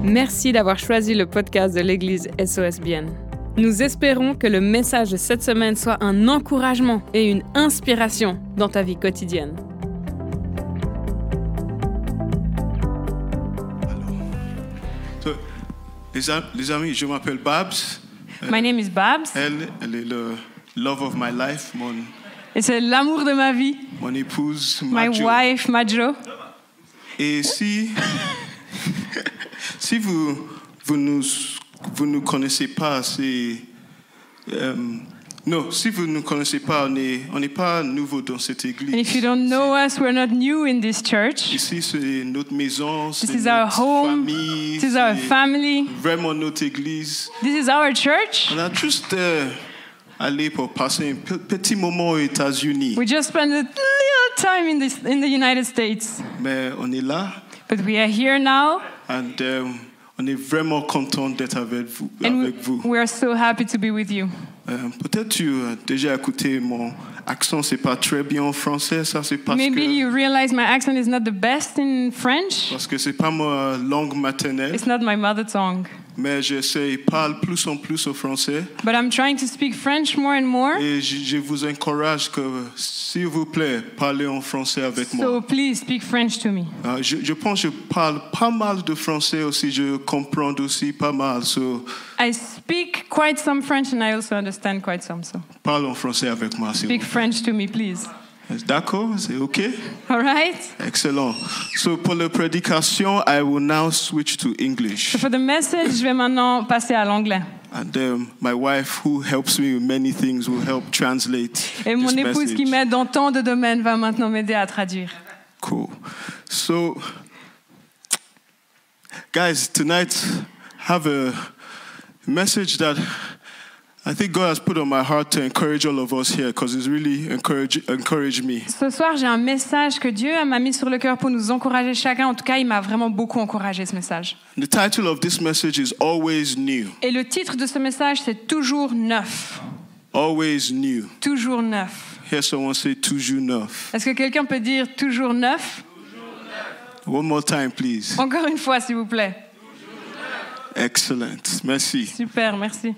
Merci d'avoir choisi le podcast de l'Église SOS-Bienne. Nous espérons que le message de cette semaine soit un encouragement et une inspiration dans ta vie quotidienne. Les amis, je m'appelle Babs. My name is Babs. Elle est le love of my life, Et c'est l'amour de ma vie. mon épouse, My Majo. wife, Majo. Et si vous nous connaissez pas, si vous ne connaissez pas, on n'est pas nouveau dans cette église. And if you don't know us, we're not new in this church. Ici, c'est notre maison, c'est This is our notre home. famille, This is our c'est family. vraiment notre église. This is our church. On a juste allé pour passer un petit moment aux États-Unis. We just spent a little time in the United States. Mais on est là. But we are here now. And on est vraiment content d'être avec vous. And we are so happy to be with you. Peut-être tu as déjà écouté mon accent, c'est pas très bien en français, ça c'est Maybe you realize my accent is not the best in French. parce que c'est pas ma langue maternelle. It's not my mother tongue. Mais j'essaie parle plus en plus au français. But I'm trying to speak French more and more. Et je vous encourage que, s'il vous plaît, parlez en français avec moi. So please speak French to me. Je pense que je parle pas mal de français aussi, je comprends aussi pas mal. So, I speak quite some French and I also understand quite some. So parle en français avec moi, s'il vous speak French to me, please. plaît. D'accord, c'est OK? All right? Excellent. So pour la prédication, I will now switch to English. So for the message, je vais maintenant passer à l'anglais. And my wife, who helps me with many things, will help translate Et mon this épouse message. qui m'aide dans tant de domaines va maintenant m'aider à traduire. Cool. So, guys, tonight have a message that I think God has put on my heart to encourage all of us here because it's really encouraged me. Ce soir, j'ai un message que Dieu m'a mis sur le cœur pour nous encourager chacun. En tout cas, il m'a vraiment beaucoup encouragé, ce message. The title of this message is Always New. Et le titre de ce message, c'est Toujours neuf. Always new. Toujours neuf. Hear someone say toujours neuf. Est-ce que quelqu'un peut dire toujours neuf? One more time, please. Encore une fois, s'il vous plaît. Excellent. Merci. Super, merci.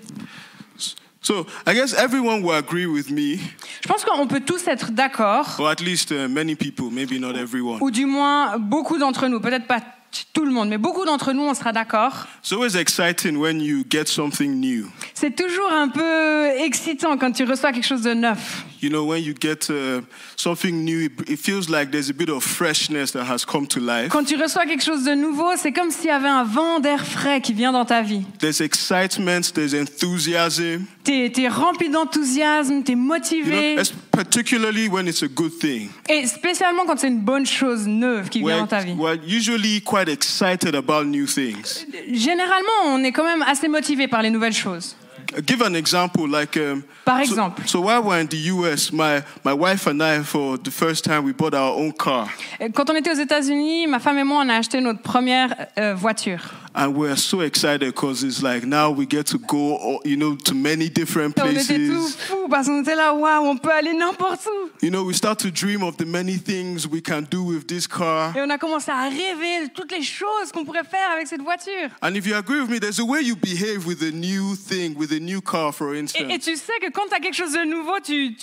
So, I guess everyone will agree with me, Je pense qu'on peut tous être d'accord, or at least many people, maybe not everyone. ou du moins beaucoup d'entre nous, peut-être pas tout le monde, mais beaucoup d'entre nous, on sera d'accord. It's always exciting when you get something new. C'est toujours un peu excitant quand tu reçois quelque chose de neuf. You know, when you get something new, it feels like there's a bit of freshness that has come to life. Quand tu reçois quelque chose de nouveau, c'est comme s'il y avait un vent d'air frais qui vient dans ta vie. There's excitement, there's enthusiasm. T'es rempli d'enthousiasme, t'es You motivé. know, particularly when it's a good thing. Et spécialement quand c'est une bonne chose neuve qui vient dans ta vie. We're usually quite excited about new things. Généralement, on est quand même assez motivé par les nouvelles choses. Give an example, like Par exemple, so while we're in the US, my wife and I, for the first time, we bought our own car, quand on était aux États-Unis, ma femme et moi, on a acheté notre première voiture. and we're so excited because it's like now we get to go, you know, to many different Et on était tout places. fous parce qu'on était là, waouh, on peut aller n'importe où. You know, we start to dream of the many things we can do with this car. Et on a commencé à rêver de toutes les choses qu'on pourrait faire avec cette voiture. And if you agree with me, there's a way you behave with a new thing, with a new car, for Et instance. tu sais que quand tu as quelque chose de nouveau,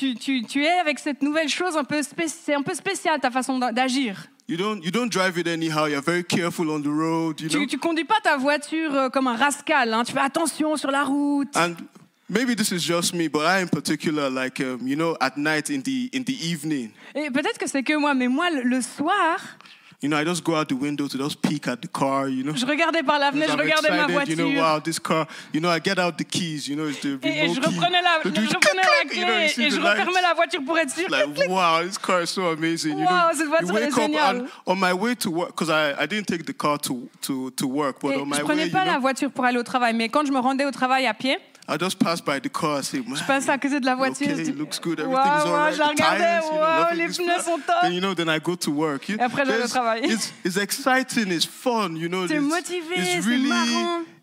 tu es avec cette nouvelle chose c'est un peu spécial ta façon d'agir. You don't drive it anyhow. You're very careful on the road, you know. Tu conduis pas ta voiture comme un rascal, hein. Tu fais attention sur la route. And maybe this is just me, but I in particular, like you know, at night in the evening, Et peut-être que c'est que moi, mais moi, le soir, you know, I just go out the window to just peek at the car, you know. je regardais par la fenêtre, je I'm regardais ma excited, you know, voiture. wow, this car, you know, I get out the keys, you know, it's the Et remote je key. reprenais la You know, clé you know, you see et the je lights. refermais la voiture pour être sûr. Like, wow, this car is so amazing. You Wow, know, cette voiture you wake est up géniale. and on my way to work, because I didn't take the car to work, but Et on my je way, prenais you pas la know, voiture pour aller au travail, mais quand je me rendais au travail à pied, I just pass by the car and say, man, je passais à côté de la voiture. okay, je it looks good, Wow, everything's all right, je la the regardais, tires, you know, wow, nothing les is pneus flat. sont top. Then, you know, then I go to work. Et après, j'allais au travail. It's exciting, it's fun, you know. C'est motivé, it's c'est really, marrant.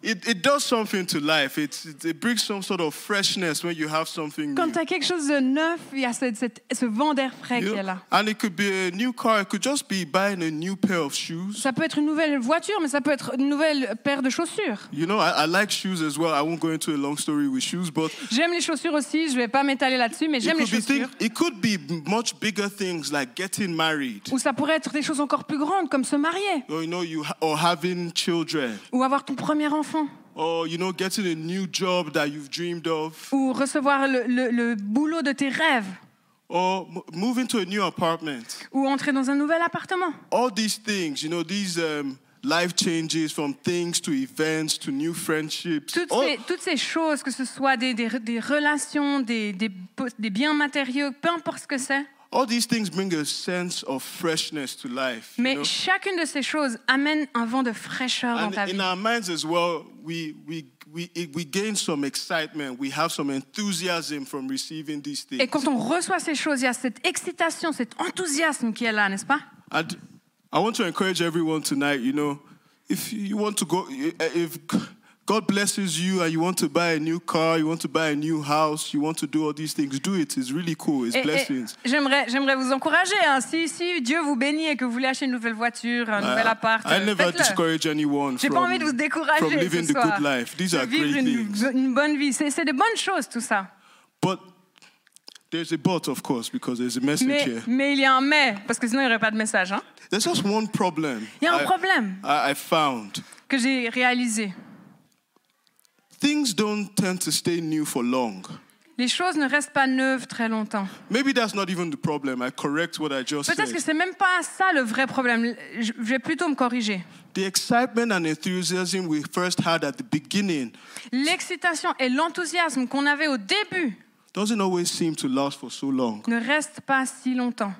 it does something to life. It brings some sort of freshness when you have something Quand new. tu as quelque chose de neuf, il y a ce vent d'air frais You qui know? est là. And it could be a new car. It could just be buying a new pair of shoes. Ça peut être une nouvelle voiture, mais ça peut être une nouvelle paire de chaussures. You know, I like shoes as well. I won't go into a long story with shoes, but J'aime les chaussures aussi, je vais pas m'étaler là-dessus, mais j'aime les chaussures. it could be much bigger things like getting married, Ou ça pourrait être des choses encore plus grandes, comme se marier, or or having children, ou avoir ton premier enfant, or getting a new job that you've dreamed of, ou recevoir le boulot de tes rêves, or moving to a new apartment. ou entrer dans un nouvel appartement. All these things, these life changes from things to events to new friendships. Toutes ces choses, que ce soit des relations, des biens matériaux, peu importe ce que c'est. All these things bring a sense of freshness to life. Mais chacune de ces choses amène un vent de fraîcheur dans ta vie. In our minds as well, we gain some excitement. We have some enthusiasm from receiving these things. Et quand on reçoit ces choses, il y a cette excitation, cet enthousiasme qui est là, n'est-ce pas? And I want to encourage everyone tonight, if you want to go, if God blesses you and you want to buy a new car, you want to buy a new house, you want to do all these things, do it. It's really cool. It's blessings. J'aimerais vous encourager. Si Dieu vous bénit et que vous voulez acheter une nouvelle voiture, un nouvel appart, I never faites-le. discourage anyone J'ai pas envie de vous from décourager living ce the soir. good life. These are Vivre great things. une bonne vie. C'est de bonnes choses, tout ça. But there's a but, of course, because there's a message here. Mais il y a un mais, parce que sinon il n'y aurait pas de message. Hein? There's just one problem. Il y a un problème I found. que j'ai réalisé. Things don't tend to stay new for long. Les choses ne restent pas neuves très longtemps. Maybe that's not even the problem. I correct what I just Peut-être said. que c'est même pas ça le vrai problème. Je vais plutôt me corriger. The excitement and enthusiasm we first had at the beginning L'excitation et l'enthousiasme qu'on avait au début doesn't always seem to last for so long. ne restent pas si longtemps.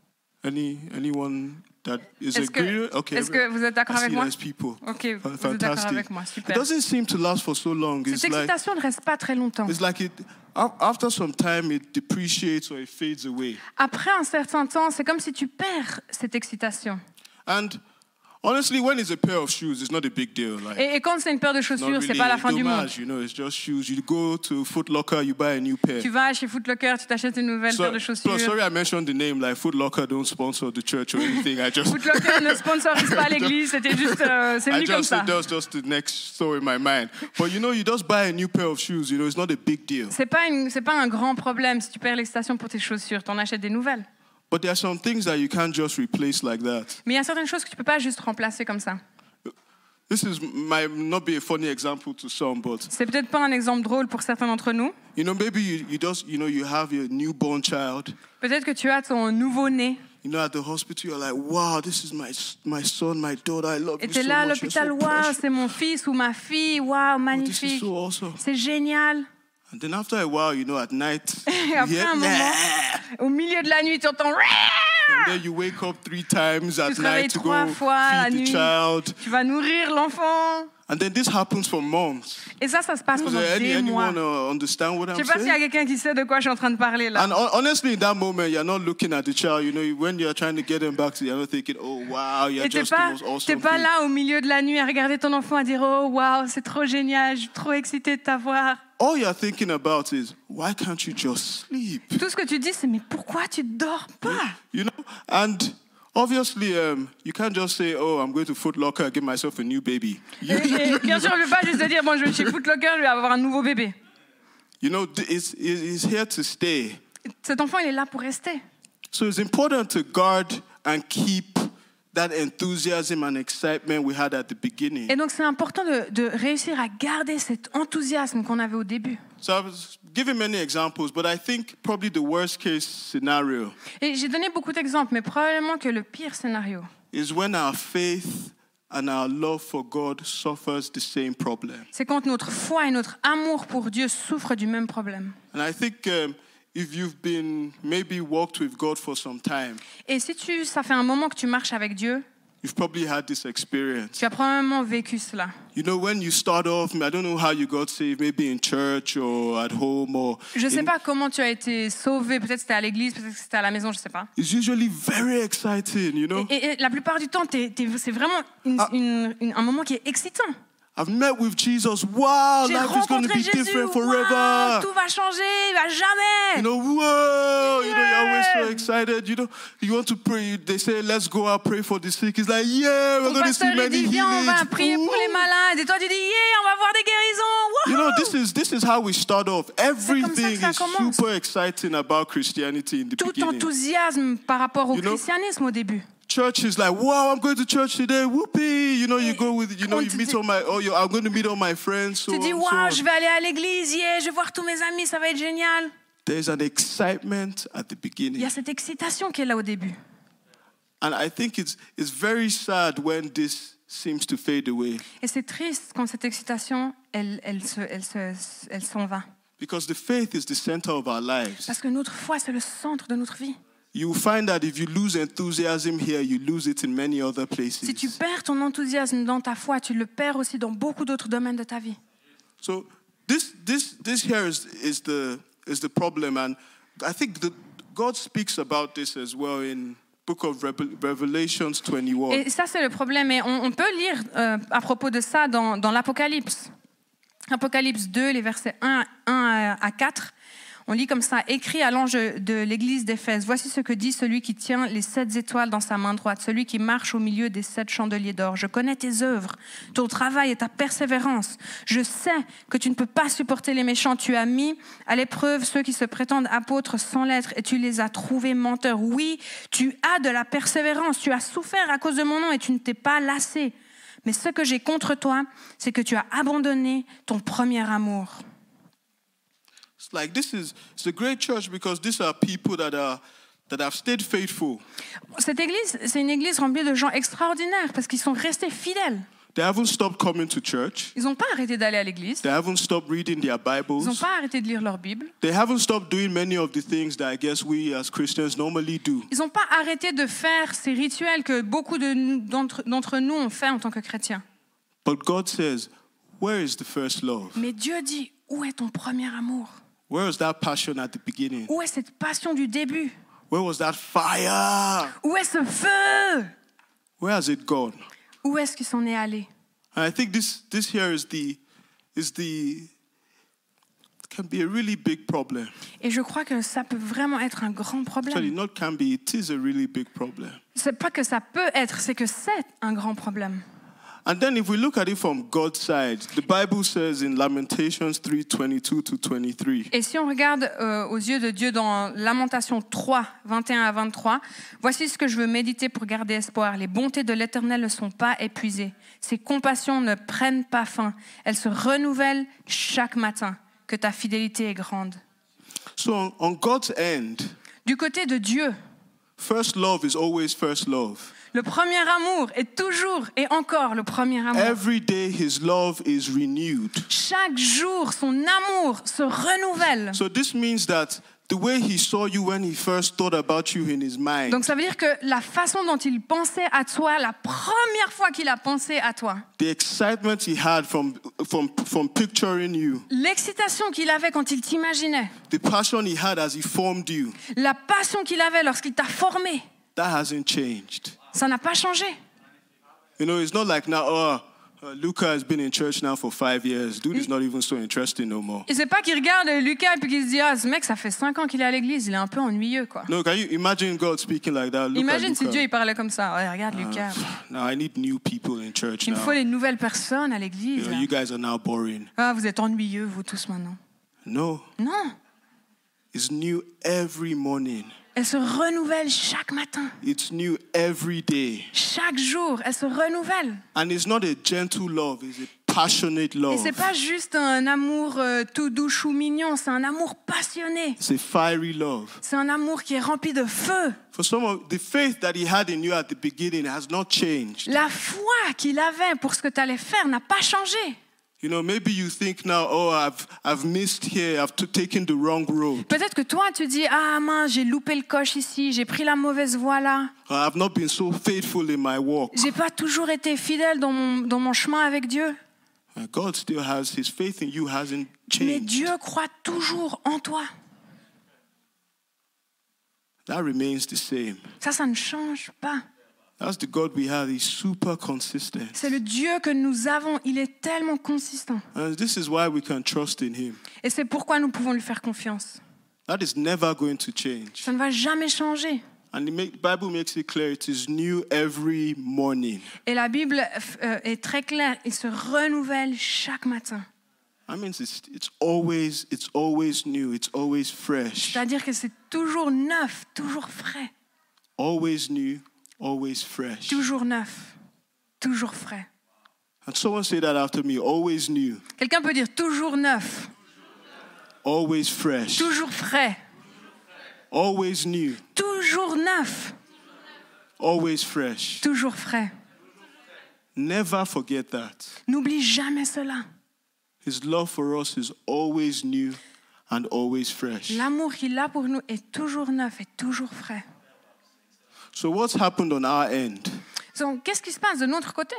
Anyone that is Est-ce agreeing? que, Okay. est-ce que vous êtes d'accord I avec see moi? nice people. Ok, vous êtes d'accord Fantastic. avec moi, It super. doesn't seem to last for so long. Cette excitation ne reste pas très longtemps. It's like after some time it depreciates or it fades away. Après un certain temps, c'est comme si tu perds cette excitation. And honestly, when it's a pair of shoes, it's not a big deal. Like, Et quand c'est une paire de not chaussures, really c'est pas la fin du monde. dommage, it's just shoes. You go to Foot Locker, you buy a new pair. Tu vas chez Foot Locker, tu t'achètes une nouvelle paire de chaussures. Sorry, I mentioned the name. Like Foot Locker don't sponsor the church or anything. I just. Foot Locker ne sponsorise pas l'église, c'était juste, c'est venu comme ça. That was just the next story in my mind. But you just buy a new pair of shoes. It's not a big deal. C'est pas un grand problème si tu perds l'excitation pour tes chaussures, t'en achètes des nouvelles. But there are some things that you can't just replace like that. Mais il y a certaines choses que tu peux pas juste remplacer comme ça. This might not be a funny example to some, but C'est peut-être pas un exemple drôle pour certains d'entre nous. maybe you have your newborn child. Peut-être que tu as ton nouveau-né. At the hospital, you're like, wow, this is my son, my daughter. I love Et you t'es so là à much. You're l'hôpital, so waouh, precious. c'est mon fils ou ma fille, waouh, Oh, this is magnifique. so awesome. C'est génial. And then after a while, at night, Et you après hear, un moment, au milieu de la nuit, tu entends. and then you wake up 3 times at te réveilles night to 3 go fois la feed the nuit. child. Tu vas nourrir l'enfant. And then this happens for months. Et ça se passe Is pendant there des mois. anyone understand what Je I'm sais pas s'il y a saying? quelqu'un qui sait de quoi je suis en train de parler là. And honestly, in that moment, you're not looking at the child. When you're trying to get them back, you're not thinking, oh, wow, you're Et t'es just the pas, most awesome pas thing. là au milieu de la nuit à regarder ton enfant à dire oh waouh c'est trop génial, je suis trop excitée de t'avoir. All you're thinking about is, why can't you just sleep? Tout ce que tu dis c'est mais pourquoi tu dors pas? And obviously, you can't just say, oh, I'm going to Foot Locker and give myself a new baby. Et bien sûr je vais pas juste te dire bon je vais chez Foot Locker je vais avoir un nouveau bébé. It's here to stay. Cet enfant il est là pour rester. So it's important to guard and keep that enthusiasm and excitement we had at the beginning. Et donc c'est important de réussir à garder cet enthousiasme qu'on avait au début. So I was giving many examples, but I think probably the worst case scenario Et j'ai donné beaucoup d'exemples, mais probablement que le pire scénario, is when our faith and our love for God suffers the same problem. c'est quand notre foi et notre amour pour Dieu souffrent du même problème. And I think if you've been maybe walked with God for some time, Et si ça fait un moment que tu marches avec Dieu, you've probably had this experience. tu as probablement vécu cela. When you start off, I don't know how you got saved, maybe in church or at home or. Je ne sais pas comment tu as été sauvé, peut-être c'était à l'église, peut-être que c'était à la maison, je ne sais pas. It's usually very exciting, Et la plupart du temps, c'est vraiment un moment qui est excitant. I've met with Jesus. Wow, J'ai life is going to rencontré be Jésus. different Wow, forever. tout va changer, à jamais. You know, whoa, you know, you're always so Yeah. excited. You know, you want to pray. They say, let's go out, pray for the sick. It's like, yeah, we're Ton going to see pasteur il many dit viens, on va healings. prier pour les Ooh. malades. Et toi tu dis yeah, on va voir des guérisons. You know, Wouhou. this is how we start off. Everything ça is commence. super exciting about Christianity in the Tout beginning. enthousiasme par rapport au You know, christianisme au début. Church is like, wow, I'm going to church today. Whoopee. You know, you go with, you know, On you te meet dit- all my, I'm going to meet all my friends. So Tu dis on, so waouh, on. je vais aller à l'église, yeah, je vais voir tous mes amis, ça va être génial. There's an excitement at the Il y beginning. a cette excitation qui est là au début. And I think it's very sad when this seems to fade away. Et c'est triste quand cette excitation, elle s'en va. Because the faith is the center of our lives. Parce que notre foi, c'est le centre de notre vie. You will find that if you lose enthusiasm here, you lose it in many other places. Si tu perds ton enthousiasme dans ta foi, tu le perds aussi dans beaucoup d'autres domaines de ta vie. So this here is the problem, and I think God speaks about this as well in Book of Revelations 21. Et ça, c'est le problème. Et on peut lire à propos de ça dans l'Apocalypse. Apocalypse 2, les versets 1 à 4. On lit comme ça, écrit à l'ange de l'église d'Éphèse, voici ce que dit celui qui tient les 7 étoiles dans sa main droite, celui qui marche au milieu des 7 chandeliers d'or. Je connais tes œuvres, ton travail et ta persévérance. Je sais que tu ne peux pas supporter les méchants. Tu as mis à l'épreuve ceux qui se prétendent apôtres sans l'être et tu les as trouvés menteurs. Oui, tu as de la persévérance, tu as souffert à cause de mon nom et tu ne t'es pas lassé. Mais ce que j'ai contre toi, c'est que tu as abandonné ton premier amour. It's like it's a great church because these are people that have stayed faithful. Cette église, c'est une église remplie de gens extraordinaires parce qu'ils sont restés fidèles. They haven't stopped coming to church. Ils n'ont pas arrêté d'aller à l'église. They haven't stopped reading their Ils n'ont Bibles. pas arrêté de lire leur Bible. They haven't stopped doing many of the things that I guess we as Christians normally do. Ils n'ont pas arrêté de faire ces rituels que beaucoup d'entre nous ont fait en tant que chrétiens. But God says, where is the first love? Mais Dieu dit, où est ton premier amour? Where was that passion at the beginning? Où est cette passion du début? Where was that fire? Où est ce feu? Where has it gone? Où est-ce qu'il s'en est allé? And I think this here can be a really big problem. Et je crois que ça peut vraiment être un grand Actually, problème. not can be, it is a really big problem. C'est pas que ça peut être, c'est que c'est un grand problème. And then if we look at it from God's side, the Bible says in Lamentations 3:22-23, Et si on regarde aux yeux de Dieu dans Lamentation 3, 21 à 23, voici ce que je veux méditer pour garder espoir. Les bontés de l'Éternel ne sont pas épuisées. Ses compassions ne prennent pas fin. Elles se renouvellent chaque matin. Que ta fidélité est grande. so on God's end, Du côté de Dieu, first love is always first love. le premier amour est toujours et encore le premier amour. Every day his love is renewed. Chaque jour, son amour se renouvelle. So this means that the way he saw you when he first thought about you in his mind, Donc ça veut dire que la façon dont il pensait à toi, la première fois qu'il a pensé à toi, the excitement he had from picturing you, l'excitation qu'il avait quand il t'imaginait, the passion he had as he formed you, la passion qu'il avait lorsqu'il t'a formé, that hasn't changed. ça n'a pas changé. You know, it's not like now, Luca has been in church now for 5 years. Dude is not even so interesting no more. Et c'est pas qu'il regarde Lucas et puis qu'il se dit ah ce mec ça fait 5 ans qu'il est à l'église, il est un peu ennuyeux quoi. No, can you imagine God speaking like that? Look Imagine at si Luca. Dieu il parlait comme ça. Ouais, regarde Lucas, Now I need new people in church il me now. faut les nouvelles personnes à You l'église. know, you guys are now boring. Ah vous êtes ennuyeux vous tous maintenant. No, Non, it's new every morning. elle se renouvelle chaque matin, It's new every day. chaque jour, elle se renouvelle. And it's not a gentle love, it's a passionate Et love. c'est pas juste un amour tout doux chou mignon, c'est un amour passionné. It's a fiery love. C'est un amour qui est rempli de feu. For some of the faith that he had in you at the beginning has not changed. La foi qu'il avait pour ce que tu allais faire n'a pas changé. You know, maybe you think now, oh, I've missed here, I've taken the wrong road. Peut-être que toi, tu dis « Ah mince, j'ai loupé le coche ici, j'ai pris la mauvaise voie là. I've not been so faithful in my walk. J'ai pas toujours été fidèle dans mon chemin avec Dieu. » God still has, his faith in you hasn't Mais changed. Dieu croit toujours en toi. That remains the same. Ça ne change pas. That's the God we have. He's super consistent. C'est le Dieu que nous avons. Il est tellement consistant. And this is why we can trust in him. Et c'est pourquoi nous pouvons lui faire confiance. That is never going to change. Ça ne va jamais changer. And the Bible makes it clear it is new every morning. Et la Bible est très claire. Il se renouvelle chaque matin. That means it's always new. It's always fresh. C'est-à-dire que c'est toujours neuf, toujours frais. Always new, always fresh. Toujours neuf, toujours frais. And someone say that after me. Always new, Quelqu'un peut dire toujours neuf, always fresh, toujours frais, always new, toujours neuf, always fresh. toujours frais. Never forget that. N'oublie jamais cela. His love for us is always new and always fresh. L'amour qu'il a pour nous est toujours neuf et toujours frais. So what's happened on our end? Donc, qu'est-ce qui se passe de notre côté?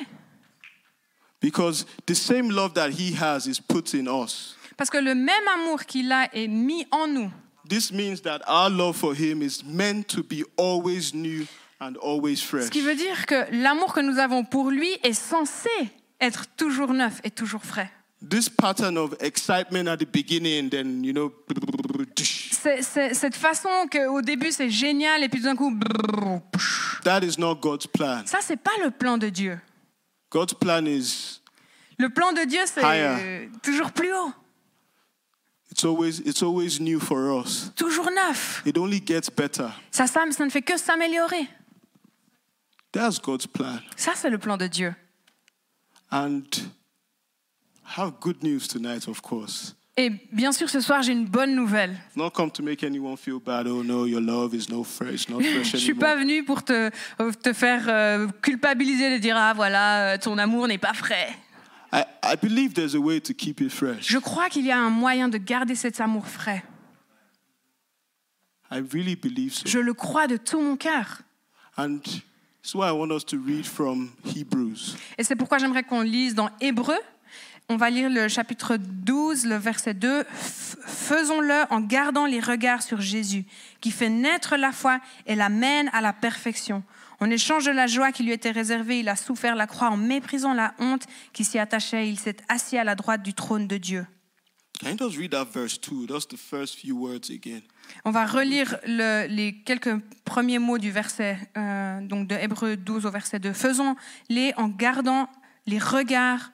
Because the same love that he has is put in us. Parce que le même amour qu'il a est mis en nous. This means that our love for him is meant to be always new and always fresh. Ce qui veut dire que l'amour que nous avons pour lui est censé être toujours neuf et toujours frais. This pattern of excitement at the beginning, then, C'est cette façon qu'au début c'est génial et puis tout d'un coup, that is not God's plan. ça c'est pas le plan de Dieu. God's plan is Le plan de Dieu c'est Higher. toujours plus haut, it's always new for us. toujours neuf. It only gets better. Ça ne fait que s'améliorer. That's God's plan. Ça c'est le plan de Dieu. And I have good news tonight, of course. Et bien sûr ce soir j'ai une bonne nouvelle. I've not come to make anyone feel bad. Oh no, your love is not fresh Je suis anymore. pas venue pour te faire culpabiliser de dire ah voilà ton amour n'est pas frais. I believe there's a way to keep it fresh. Je crois qu'il y a un moyen de garder cet amour frais. I really believe so. Je le crois de tout mon cœur. And that's why I want us to read from Hebrews. Et c'est pourquoi j'aimerais qu'on lise dans Hébreux. On va lire le chapitre 12, le verset 2. Faisons-le en gardant les regards sur Jésus, qui fait naître la foi et la mène à la perfection. En échange de la joie qui lui était réservée, il a souffert la croix en méprisant la honte qui s'y attachait. Il s'est assis à la droite du trône de Dieu. Can you just read that verse 2? That's the first few words again. On va relire les quelques premiers mots du verset, donc de Hébreux 12 au verset 2. Faisons-le en gardant les regards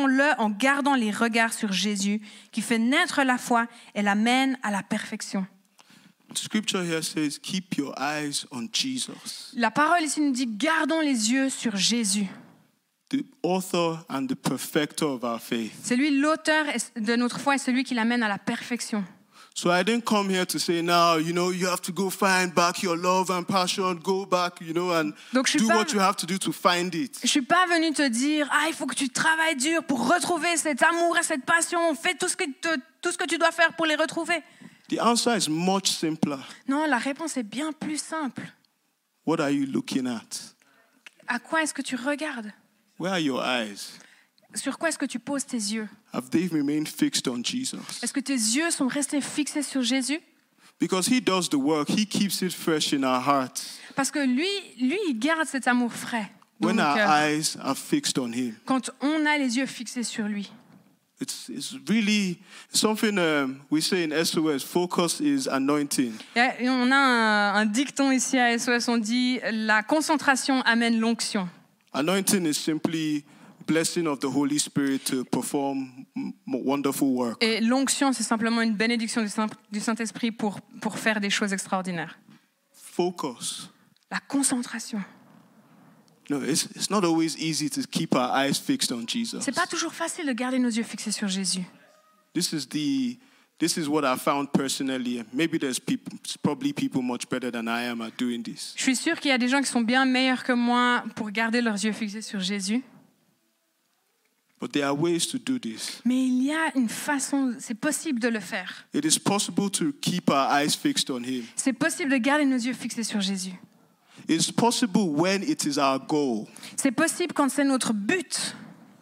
sur Jésus, qui fait naître la foi et la mène à la perfection. The scripture here says, keep your eyes on Jesus, La parole ici nous dit, gardons les yeux sur Jésus. the author and the perfecter of our faith. C'est lui l'auteur de notre foi et celui qui l'amène à la perfection. So I didn't come here to say now, you have to go find back your love and passion, go back, and Donc, je suis do pas- what you have to do to find it. Je suis pas venue te dire, il faut que tu travailles dur pour retrouver cet amour et cette passion. Fais tout ce que tu dois faire pour les retrouver. The answer is much simpler. Non, la réponse est bien plus simple. What are you looking at? À quoi est-ce que tu regardes? Where are your eyes? Sur quoi est-ce que tu poses tes yeux? Have they remained fixed on Jesus? Est-ce que tes yeux sont restés fixés sur Jésus? Because he does the work, he keeps it fresh in our hearts. Parce que lui, il garde cet amour frais dans When nos our cœurs. eyes are fixed on him. Quand on a les yeux fixés sur lui. It's really something we say in SOS, focus is anointing. Et on a un dicton ici à SOS, on dit la concentration amène l'onction. Anointing is simply blessing of the Holy Spirit to perform wonderful work. Et l'onction, c'est simplement une bénédiction du Saint-Esprit pour faire des choses extraordinaires. Focus. La concentration. No, it's not always easy to keep our eyes fixed on Jesus. C'est pas toujours facile de garder nos yeux fixés sur Jésus. This is what I found personally. Maybe there's probably people much better than I am at doing this. Je suis sûre qu'il y a des gens qui sont bien meilleurs que moi pour garder leurs yeux fixés sur Jésus. But there are ways to do this. Mais il y a une façon, c'est possible de le faire. It is possible to keep our eyes fixed on him. C'est possible de garder nos yeux fixés sur Jésus. It's possible when it is our goal. C'est possible quand c'est notre but.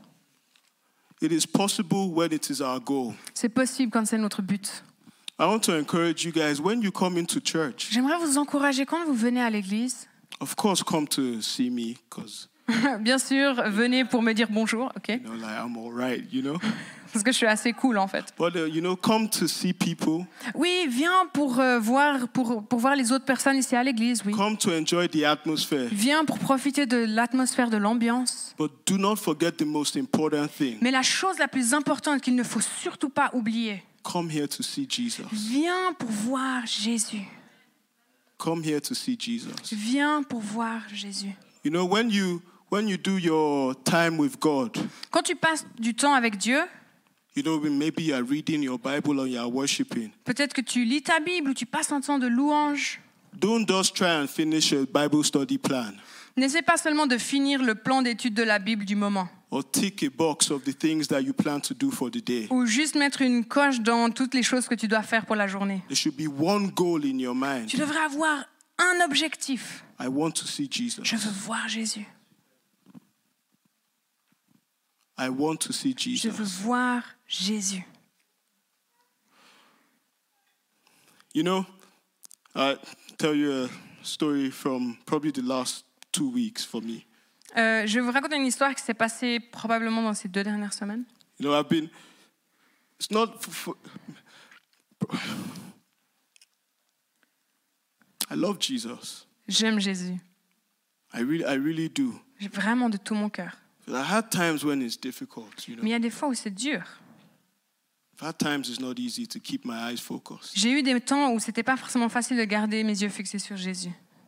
It is possible when it is our goal. C'est possible quand c'est notre but. I want to encourage you guys, when you come into church, J'aimerais vous encourager quand vous venez à l'église, Of course, come to see me because Bien sûr, venez pour me dire bonjour, ok? like I'm all right, Parce que je suis assez cool en fait. But come to see people. Oui, viens pour voir les autres personnes ici à l'église, oui. Come to enjoy the atmosphere. Viens pour profiter de l'atmosphère, de l'ambiance. But do not forget the most important thing. Mais la chose la plus importante qu'il ne faut surtout pas oublier. Come here to see Jesus. Viens pour voir Jésus. Come here to see Jesus. Viens pour voir Jésus. When you do your time with God, Quand tu passes du temps avec Dieu, maybe you are reading your Bible or you are worshiping. peut-être que tu lis ta Bible ou tu passes un temps de louange. Don't just try and finish a Bible study plan N'essaie pas seulement de finir le plan d'étude de la Bible du moment. or tick a box of the things that you plan to do for the day. Ou juste mettre une coche dans toutes les choses que tu dois faire pour la journée. There should be one goal in your mind. Tu devrais avoir un objectif. I want to see Jesus. Je veux voir Jésus. I want to see Je veux Jesus. voir Jésus. I'll tell you a story from probably the last 2 weeks for me. Je vais vous raconter une histoire qui s'est passée probablement dans ces 2 dernières semaines. It's not, I love Jesus. J'aime Jésus. I really do. Vraiment de tout mon cœur. I had times when it's difficult, Mais il y a des fois où c'est dur. I've had times it's not easy to keep my eyes focused. J'ai eu des temps où c'était pas forcément facile de garder mes yeux fixés sur Jésus.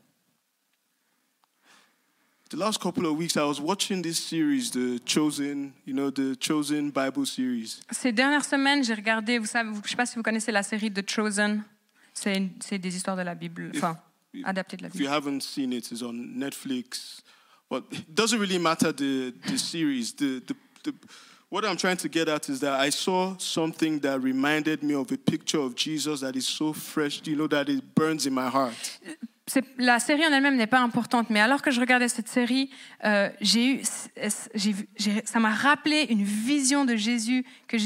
The last couple of weeks, I was watching this series, the Chosen Bible series. Ces dernières semaines, j'ai regardé, je sais pas si vous connaissez la série The Chosen. C'est des histoires de la Bible, adaptées de la If you Bible. haven't seen it, it's on Netflix. But it doesn't really matter the series. What I'm trying to get at is that I saw something that reminded me of a picture of Jesus that is so fresh, that it burns in my heart. La série en elle-même n'est pas importante, mais alors que je regardais cette série, ça m'a rappelé une vision de Jésus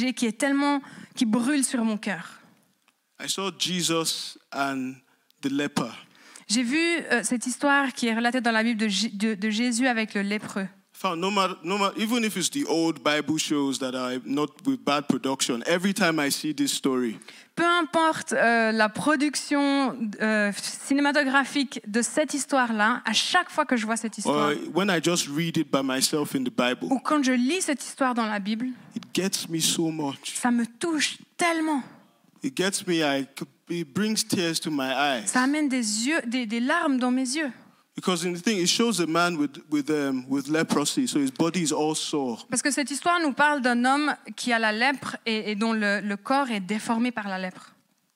qui brûle sur mon cœur. I saw Jesus and the leper. J'ai vu cette histoire qui est relatée dans la Bible de Jésus avec le lépreux. No matter, even if it's the old Bible shows that are not with bad production, every time I see this story, Peu importe la production cinématographique de cette histoire-là, à chaque fois que je vois cette histoire, or when I just read it by myself in the Bible, ou quand je lis cette histoire dans la Bible, it gets me so much. ça me touche tellement. It gets me, it brings tears to my eyes. Ça amène des larmes dans mes yeux. Because in the thing, it shows a man with leprosy, so his body is all sore. Parce que cette histoire nous parle d'un homme qui a la lèpre et dont le corps est déformé par la lèpre.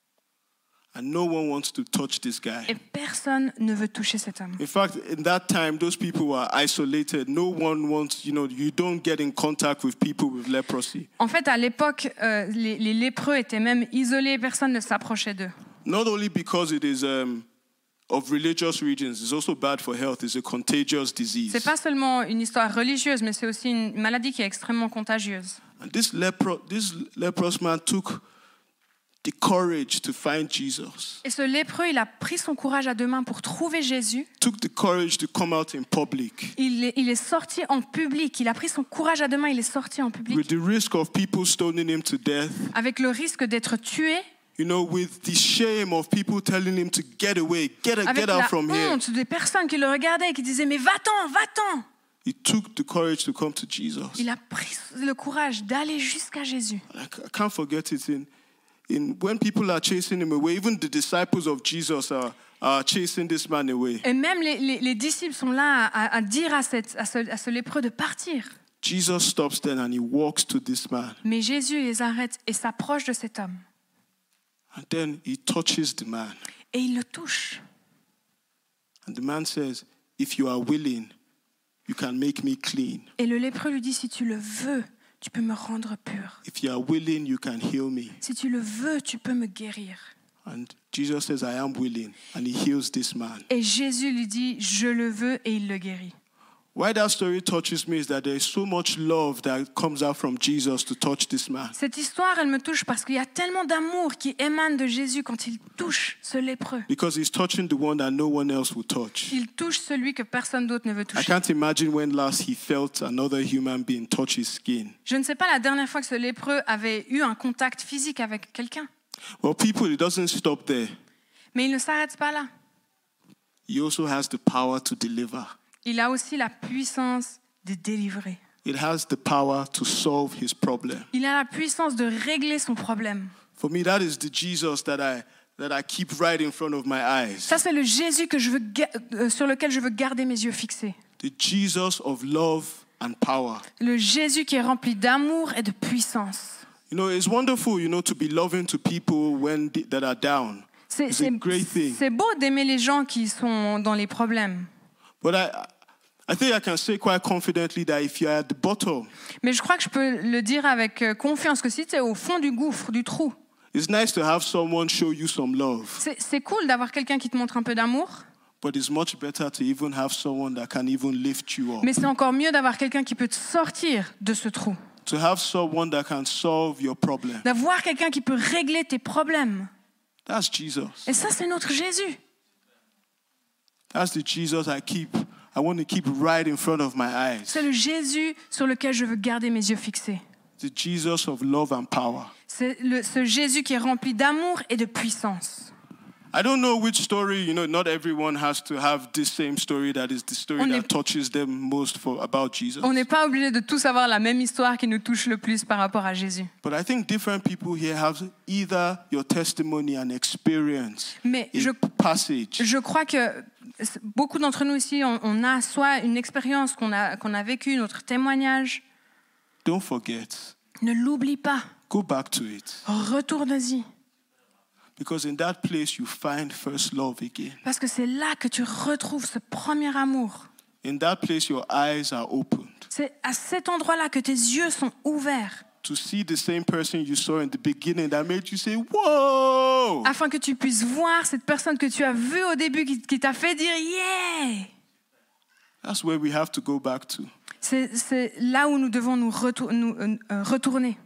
And no one wants to touch this guy. Et personne ne veut toucher cet homme. In fact, in that time, those people were isolated. No one wants, you don't get in contact with people with leprosy. En fait, à l'époque, les lépreux étaient même isolés, personne ne s'approchait d'eux. Not only because it is of religious regions, it's also bad for health. It's a contagious disease. C'est pas seulement une histoire religieuse, mais c'est aussi une maladie qui est extrêmement contagieuse. And this leprous man took the courage to find Jesus. Et ce lépreux, il a pris son courage à deux mains pour trouver Jésus. Took the courage to come out in public. Il est sorti en public. Il a prit son courage à deux mains. Il est sorti en public. With the risk of people stoning him to death. Avec le risque d'être tué. With the shame of people telling him to get away, get out from here. Avec la honte des personnes qui le regardaient et qui disaient mais va-t'en, va-t'en. He took the courage to come to Jesus. Il a pris le courage d'aller jusqu'à Jésus. I can't forget it. When people are chasing him away, even the disciples of Jesus are chasing this man away. Et même les disciples sont là à dire à ce lépreux de partir. Jesus stops then and he walks to this man. Mais Jésus les arrête et s'approche de cet homme. And then he touches the man. Et il le touche. And the man says, if you are willing, you can make me clean. Et le lépreux lui dit, si tu le veux, tu peux me rendre pur. If you are willing, you can heal me. Si tu le veux, tu peux me guérir. And Jesus says, I am willing. And he heals this man. Et Jésus lui dit, je le veux, et il le guérit. Why that story touches me is that there is so much love that comes out from Jesus to touch this man. Cette histoire, elle me touche parce qu'il y a tellement d'amour qui émane de Jésus quand il touche ce lépreux. Because he's touching the one that no one else will touch. Il touche celui que personne d'autre ne veut I toucher. can't imagine when last he felt another human being touch his skin. Je ne sais pas la dernière fois que ce lépreux avait eu un contact physique avec quelqu'un. Well, people, it doesn't stop there. Mais il ne s'arrête pas là. He also has the power to deliver. Il a aussi la puissance de délivrer. It has the power to solve his problem. Il a la puissance de régler son problème. For me, that is the Jesus that I keep right in front of my eyes. Ça, c'est le Jésus que sur lequel je veux garder mes yeux fixés. The Jesus of love and power. Le Jésus qui est rempli d'amour et de puissance. You know, it's wonderful, to be loving to people that are down. It's a great thing. C'est beau d'aimer les gens qui sont dans les problèmes. But I think I can say quite confidently that if you're at the bottom, Mais je crois que je peux le dire avec confiance que si tu es au fond du gouffre, du trou, it's nice to have someone show you some love. c'est cool d'avoir quelqu'un qui te montre un peu d'amour, But it's much better to even have someone that can even lift you up. mais c'est encore mieux d'avoir quelqu'un qui peut te sortir de ce trou. To have someone that can solve your problem. D'avoir quelqu'un qui peut régler tes problèmes. That's Jesus. Et ça, c'est notre Jésus. That's the Jesus I want to keep right in front of my eyes. C'est le Jésus sur lequel je veux garder mes yeux fixés. The Jesus of love and power. C'est ce Jésus qui est rempli d'amour et de puissance. I don't know which story, not everyone has to have this same story that is the story that touches them most about Jesus. On n'est pas obligé de tous avoir la même histoire qui nous touche le plus par rapport à Jésus. But I think different people here have either your testimony and experience, Mais passage. je crois que beaucoup d'entre nous ici, on a soit une expérience qu'on a vécue, notre témoignage. Don't forget. Ne l'oublie pas. Go back to it. Retourne-y. Because in that place you find first love again. Parce que c'est là que tu retrouves ce premier amour. In that place your eyes are opened. C'est à cet endroit-là que tes yeux sont ouverts. To see the same person you saw in the beginning that made you say, whoa! Afin que tu puisses voir cette personne que tu as vue au début qui t'a fait dire yeah! That's where we have to go back to. C'est là où nous devons nous retourner.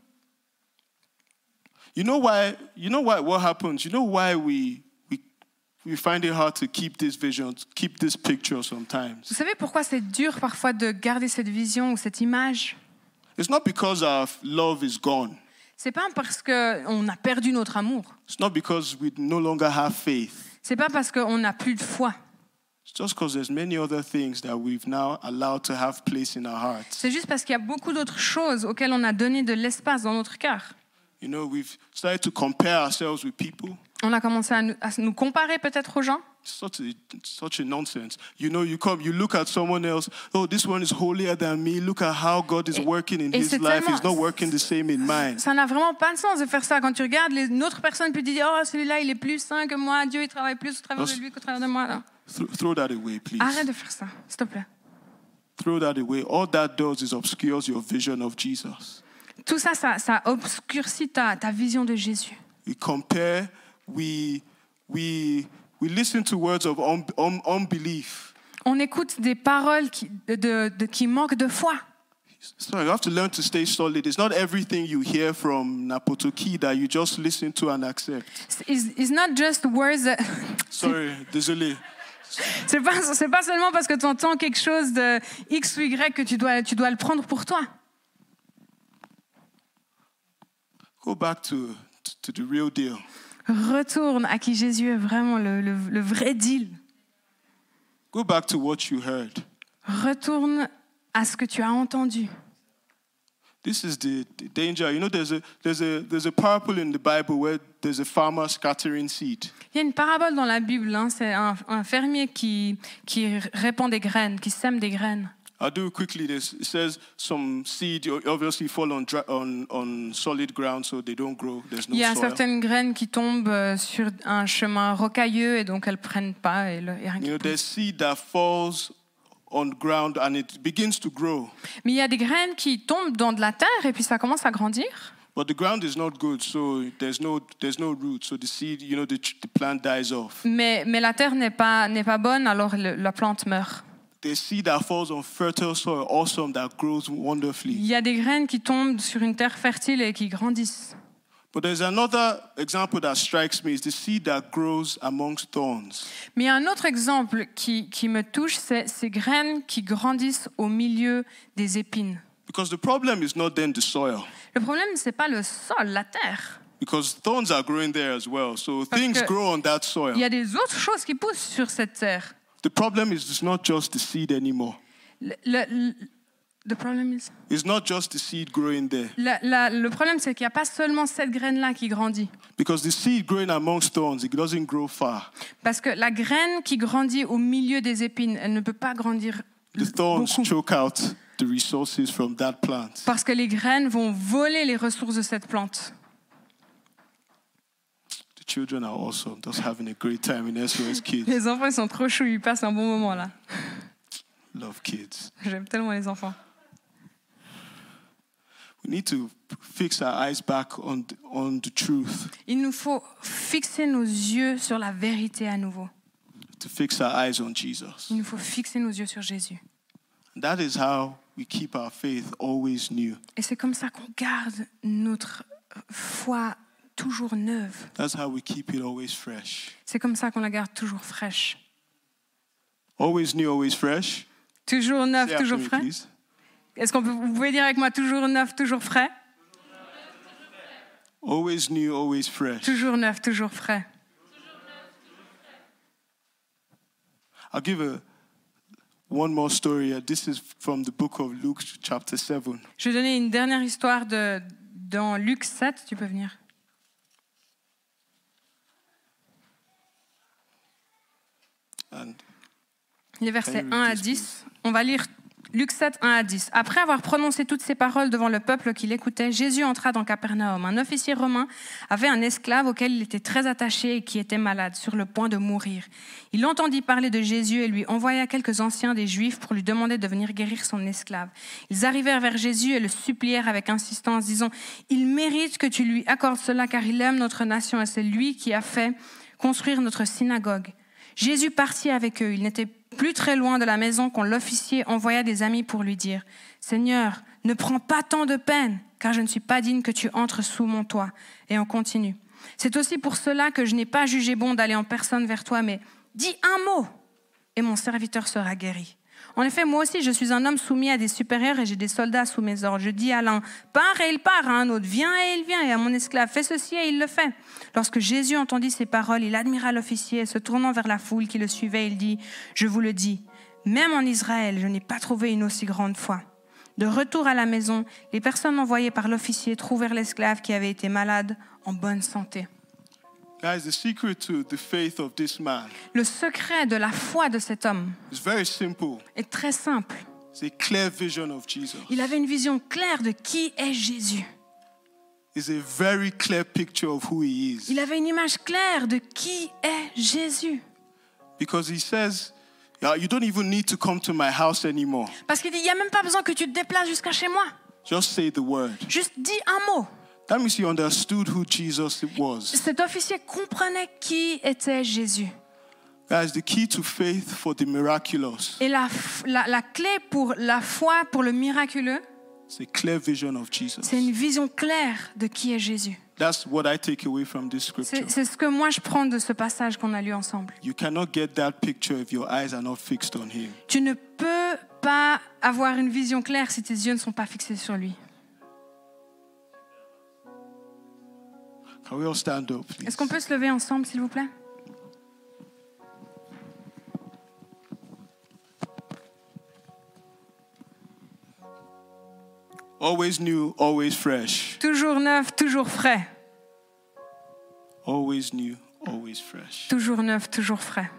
You know why? What happens? You know why we find it hard to keep this vision, keep this picture sometimes. Vous savez pourquoi c'est dur parfois de garder cette vision ou cette image? It's not because our love is gone. C'est pas parce que on a perdu notre amour. It's not because we no longer have faith. C'est pas parce qu'on n'a plus de foi. It's just because there's many other things that we've now allowed to have place in our hearts. C'est juste parce qu'il y a beaucoup d'autres choses auxquelles on a donné de l'espace dans notre cœur. We've started to compare ourselves with people. On a commencé à nous comparer peut-être aux gens. Such a nonsense. You look at someone else. Oh, this one is holier than me. Look at how God is working in his life. He's not working the same in mine. Ça n'a vraiment pas de sens de faire ça. Quand tu regardes une autre personne, puis tu dis, oh, celui-là, il est plus saint que moi. Dieu, il travaille plus au travers de lui qu'au travers de moi. Là. Throw that away, please. Arrête de faire ça, s'il te plaît. Throw that away. All that does is obscures your vision of Jesus. Tout ça, ça obscurcit ta vision de Jésus. We compare, we listen to words of unbelief. On écoute des paroles qui manquent de foi. So you have to learn to stay solid. It's not everything you hear from Napotoki that you just listen to and accept. It's not just words that... Sorry, désolé. C'est pas seulement parce que tu entends quelque chose de X ou Y que tu dois le prendre pour toi. Go back to the real deal. Retourne à qui Jésus est vraiment le vrai deal. Go back to what you heard. Retourne à ce que tu as entendu. This is the danger. There's a parable in the Bible where there's a farmer scattering seed. Il y a une parabole dans la Bible. C'est un fermier qui répand des graines, qui sème des graines. I'll do it quickly. It says some seed obviously fall on solid ground, so they don't grow. There's no soil. Il y a certaines graines qui tombent sur un chemin rocailleux et donc elles prennent pas et rien qui pousse. There's seed that falls on ground and it begins to grow. Mais il y a des graines qui tombent dans de la terre et puis ça commence à grandir. But the ground is not good, so there's no root. So the seed, the plant dies off. Mais la terre n'est pas bonne, alors la plante meurt. There's seed that falls on fertile soil, awesome, that grows wonderfully. Il y a des graines qui tombent sur une terre fertile et qui grandissent. But there's another example that strikes me, is the seed that grows amongst thorns. Mais il y a un autre exemple qui me touche, c'est ces graines qui grandissent au milieu des épines. Because the problem is not then the soil. Le problème, ce n'est pas le sol, la terre. Because thorns are growing there as well. So Parce things que grow on that soil. Il y a des autres choses qui poussent sur cette terre. The problem is it's not just the seed anymore. The problem is... It's not just the seed growing there. Le problème, c'est qu'il n'y a pas seulement cette graine-là qui grandit. Because the seed growing amongst thorns, it doesn't grow far. Parce que la graine qui grandit au milieu des épines, elle ne peut pas grandir The thorns beaucoup. choke out the resources from that plant. Parce que les graines vont voler les ressources de cette plante. The children are awesome, just having a great time in SOS Kids. Les enfants, ils sont trop choux, ils passent un bon moment là. Love kids. J'aime tellement les enfants. We need to fix our eyes back on the truth, Il nous faut fixer nos yeux sur la vérité à nouveau. to fix our eyes on Jesus. Il nous faut fixer nos yeux sur Jésus. And that is how we keep our faith always new. Et c'est comme ça qu'on garde notre foi toujours neuve. That's how we keep it always fresh. C'est comme ça qu'on la garde toujours fraîche. Always new, always fresh. Toujours neuf, Say after toujours me, frais. please. Est-ce qu'on peut, vous pouvez dire avec moi toujours neuf, toujours frais? Always new, always fresh. Toujours neuf, toujours frais. I'll give one more story. This is from the book of Luke, chapter 7. Je vais donner une dernière histoire dans Luc 7. Tu peux venir. And Les versets Can you 1 à read this, 10. On va lire Luc 7, 1 à 10. Après avoir prononcé toutes ces paroles devant le peuple qui l'écoutait, Jésus entra dans Capernaum. Un officier romain avait un esclave auquel il était très attaché et qui était malade, sur le point de mourir. Il entendit parler de Jésus et lui envoya quelques anciens des Juifs pour lui demander de venir guérir son esclave. Ils arrivèrent vers Jésus et le supplièrent avec insistance, disant « Il mérite que tu lui accordes cela car il aime notre nation et c'est lui qui a fait construire notre synagogue. » Jésus partit avec eux. Il n'était plus très loin de la maison quand l'officier envoya des amis pour lui dire « Seigneur, ne prends pas tant de peine, car je ne suis pas digne que tu entres sous mon toit. » Et on continue. « C'est aussi pour cela que je n'ai pas jugé bon d'aller en personne vers toi, mais dis un mot, et mon serviteur sera guéri. En effet, moi aussi, je suis un homme soumis à des supérieurs et j'ai des soldats sous mes ordres. Je dis à l'un, pars et il part, à un autre, viens et il vient, et à mon esclave, fais ceci et il le fait. Lorsque Jésus entendit ces paroles, il admira l'officier et se tournant vers la foule qui le suivait, il dit, je vous le dis, même en Israël, je n'ai pas trouvé une aussi grande foi. De retour à la maison, les personnes envoyées par l'officier trouvèrent l'esclave qui avait été malade en bonne santé. guys, the secret to the faith of this man Le secret de la foi de cet homme is very simple. est très simple. It's a clear vision of Jesus. Il avait une vision claire de qui est Jésus. It's a very clear picture of who he is. Il avait une image claire de qui est Jésus. Because he says, "Yeah, you don't even need to come to my house anymore. Parce qu'il dit, il n'y a même pas besoin que tu te déplaces jusqu'à chez moi. Just say the word." Juste dis un mot. That means he understood who Jesus was. Cet officier comprenait qui était Jésus. Guys, the key to faith for the miraculous Et la clé pour la foi, pour le miraculeux, is a clear vision of Jesus. c'est une vision claire de qui est Jésus. That's what I take away from this scripture. C'est ce que moi je prends de ce passage qu'on a lu ensemble. You cannot get that picture if your eyes are not fixed on him. Tu ne peux pas avoir une vision claire si tes yeux ne sont pas fixés sur lui. Can we all stand up, please? Est-ce qu'on peut se lever ensemble, s'il vous plaît? Always new, always fresh. Toujours neuf, toujours frais. Always new, always fresh. Toujours neuf, toujours frais.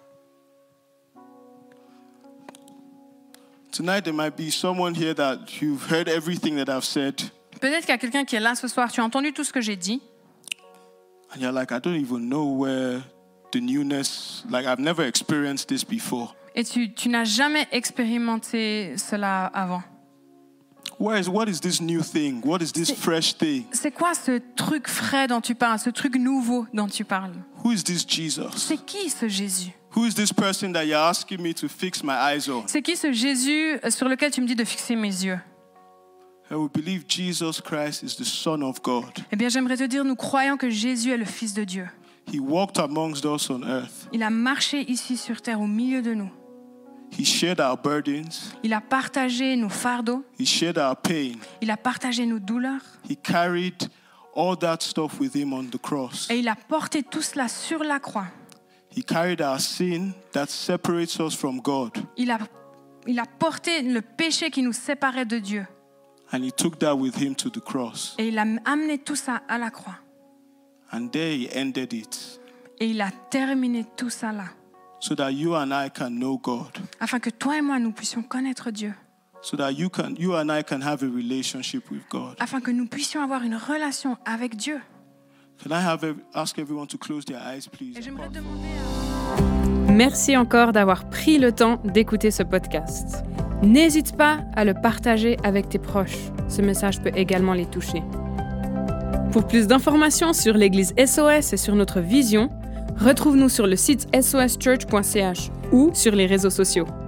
Tonight there might be someone here that you've heard everything that I've said, Peut-être qu'il y a quelqu'un qui est là ce soir, tu as entendu tout ce que j'ai dit, and you're like, I don't even know where the newness, like I've never experienced this before. et tu n'as jamais expérimenté cela avant. What is this new thing? What is this fresh thing? C'est quoi ce truc frais dont tu parles, ce truc nouveau dont tu parles? Who is this Jesus? C'est qui ce Jésus? Who is this person that you're asking me to fix my eyes on? C'est qui ce Jésus sur lequel tu me dis de fixer mes yeux? I will believe Jesus Christ is the Son of God. Eh bien, j'aimerais te dire, nous croyons que Jésus est le Fils de Dieu. He walked amongst us on earth. Il a marché ici sur terre au milieu de nous. He shared our burdens. Il a partagé nos fardeaux. He shared our pain. Il a partagé nos douleurs. He carried all that stuff with him on the cross. Et il a porté tout cela sur la croix. He carried our sin that separates us from God. Il a porté le péché qui nous séparait de Dieu. And he took that with him to the cross. Et il a amené tout ça à la croix. And there he ended it. Et il a terminé tout ça là. So that you and I can know God. Afin que toi et moi, nous puissions connaître Dieu. So that you and I can have a relationship with God. Afin que nous puissions avoir une relation avec Dieu. Can I ask everyone to close their eyes, please? Et j'aimerais demander Merci encore d'avoir pris le temps d'écouter ce podcast. N'hésite pas à le partager avec tes proches. Ce message peut également les toucher. Pour plus d'informations sur l'Église SOS et sur notre vision, retrouve-nous sur le site soschurch.ch ou sur les réseaux sociaux.